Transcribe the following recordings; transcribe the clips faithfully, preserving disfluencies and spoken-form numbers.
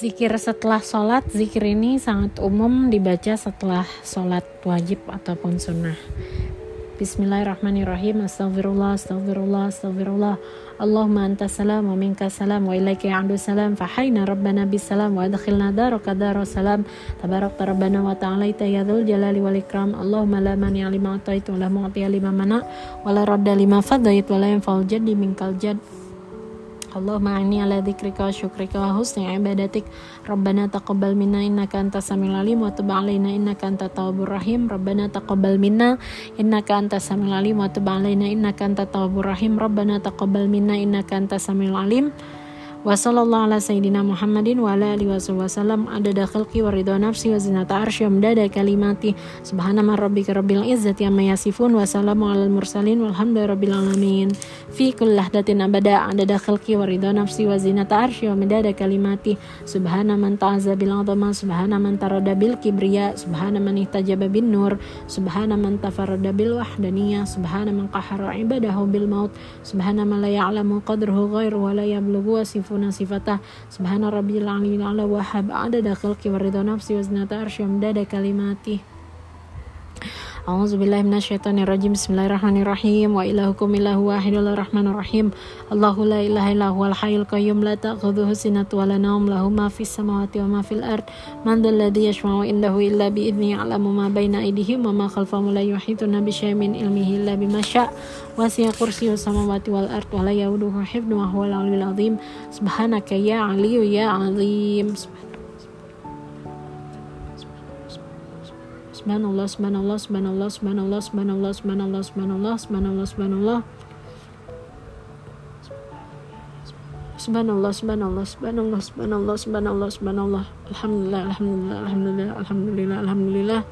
Zikir setelah sholat, zikir ini sangat umum dibaca setelah sholat wajib ataupun sunnah. Bismillahirrahmanirrahim. Astaghfirullah, astaghfirullah, astaghfirullah. Allahumma anta salam wa minka salam wa ilaika ya'udu salam. Fahayna rabbana bisalam wa adkhilna daraka daras salam. Tabarakta rabbana wa ta'alaita ya dzul jalali wal ikram. Allahumma la mani'a lima ataitu wa la mu'tiya lima mana' wa la radda lima fadait wa la yanfa'ul jaddi minkal jadd. Allahumma inni ala dzikrika wa syukrika wa husni ibadatik. Rabbana taqabbal minna innaka antas samiul alim wa tub alaina innaka antat tawwabur rahim. Rabbana taqabbal minna innaka antas samiul alim wa tub alaina innaka antat tawwabur rahim. Rabbana taqabbal minna innaka antas samiul alim. Wa sallallahu ala sayyidina Muhammadin wa ala alihi wasallam adada khalqi wa ridha nafsi wa zinata arsy wa midada kalimati. Subhana rabbika rabbil izzati amma yasifun wa salamun alal mursalin walhamdulillahi rabbil alamin. Fi kulli lahdatin abada adada khalqi wa ridha nafsi wa zinata arsy wa midada kalimati. Subhana man ta'azza bil azama, subhana man tarada bil kibriya, subhana man ihtajaba bin nur, subhana man tafarrada bil wahdaniyah, subhana man qahara ibadahu bil maut, subhana man la ya'lamu qadruhu ghairu wa la yablughu wasifuna sifatah. Subhana rabbil aliyil a'la wa hab adada khalqi wa ridha nafsi wa zinata arsy wa midada kalimati. A'udzubillahi minasyaitonir rajim. Bismillahirrahmanirrahim. Wa ilahukum ilahu wahidul rahmanir rahim. Allahu la ilaha illa huwal hayyul qayyum la ta'khudhuhu sinatun wa la nawm lahu ma fis samawati wa ma fil ard. Man dzal ladzi yashfa'u indahu illa bi idzni ya'lamu ma baina aydihim wa ma khalfahum la yuhituna bi syai'in min ilmihi illa bima syaa'. Wasi'a kursiyyus samawati wal ard wa la ya'uduhu hifdhuhuma wa huwal 'aliyyul 'azim. Subhanaka ya 'aliyyu ya 'azim. Subhanallah, subhanallah, subhanallah, subhanallah, subhanallah, subhanallah, subhanallah, subhanallah, subhanallah. Subhanallah, subhanallah, subhanallah, subhanallah, subhanallah, subhanallah. Alhamdulillah, alhamdulillah, alhamdulillah, alhamdulillah, alhamdulillah.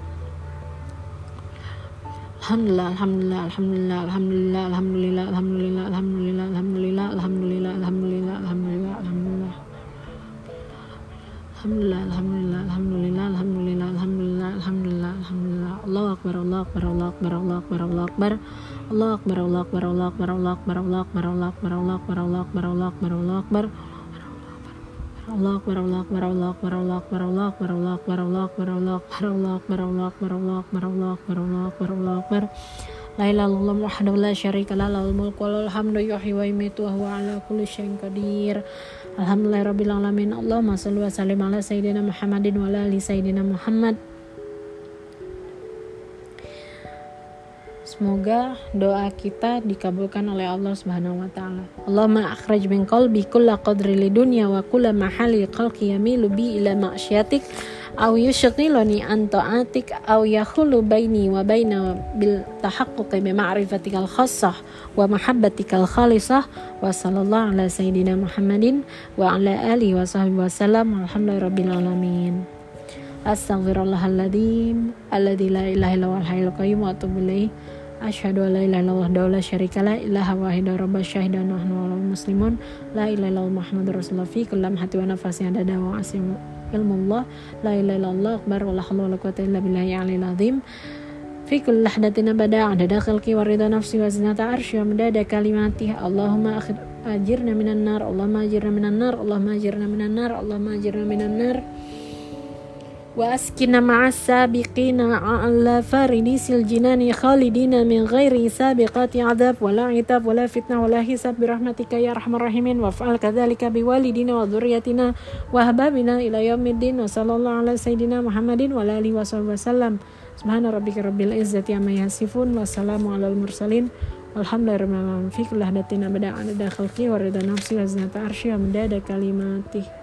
Alhamdulillah, alhamdulillah, alhamdulillah, alhamdulillah, alhamdulillah, alhamdulillah, alhamdulillah, alhamdulillah, alhamdulillah, alhamdulillah, alhamdulillah, alhamdulillah. Alhamdulillah, alhamdulillah, alhamdulillah, alhamdulillah, alhamdulillah, alhamdulillah, alhamdulillah. Allahu akbar, Allahu akbar, Allahu akbar, Allahu akbar, Allahu akbar. Allahu akbar, Allahu akbar, Allahu akbar, Allahu akbar, Allahu akbar, Allahu akbar, Allahu akbar, Allahu akbar, Allahu akbar, Allahu akbar. Allahu akbar, Allahu akbar, Allahu akbar, Allahu akbar, Allahu akbar, Allahu akbar, Allahu akbar, Allahu akbar, Allahu akbar, Allahu akbar, Allahu akbar, Allahu akbar, Allahu akbar, Allahu akbar. La ilaha illallah wahdahu la syarika lahu, lahul mulku wa lahul hamdu yuhyi wa yumiitu wa huwa ala kulli syai'in qadir. Alhamdulillahirabbil alamin. Allahumma shalli wa sallim ala sayyidina Muhammadin wa ala ali sayyidina Muhammad. Semoga doa kita dikabulkan oleh Allah Subhanahu wa taala. Allahumma akhrij min qalbi kulla qadri lidunya wa kulla mahali khalqi yamilu bi ila ma'syiatik aw yushghiluni an ta'atik aw yahulu baini wa baina bil tahaqquqi bi ma'rifatikal khassah wa mahabbatikal khalisah. Wa sallallahu ala sayyidina Muhammadin wa ala alihi wa sahbihi wasallam. Alhamdulillahirabbil alamin. Astaghfirullahaladzim alladzi la ilaha illa huwal hayyul qayyum wa atubu ilaihi. Asyhadu an la ilaha illallah wahdahu la syarika la ilaha wahida rabbas syahidan wa nahnu muslimun la ilaha illallah muhammadur rasulullah fi kulli lamhati wa nafasin adada wa asim ilmullah la ilaha illallah akbar wa la haula wa la quwwata illa billahi aliyil azim. Fi kulli lahdatin abada adada khalqi wa ridha nafsi wa zinata arsy wa midada kalimati. Allahumma ajirna minan nar, Allahumma ajirna minan nar, Allahumma ajirna minan nar, Allahumma ajirna minan nar. Wa askina ma'as sabiqina ala faridisil jinani khalidina min ghairi sabiqati adab wala itab wala fitnah wala hisab birahmatika ya arhamar rahimin. Wa fa'al kadzalika biwalidina wa dzurriyyatina wa ahbabina ila yaumiddin. Wa sallallahu ala sayyidina Muhammadin wa ala alihi wasallam. Subhana rabbika rabbil izzati amma yasifun wa salamun alal mursalin walhamdulillahi rabbil alamin. Fi kulli lahdatin abada adada khalqi wa ridha nafsi wa zinata arsy wa midada kalimati.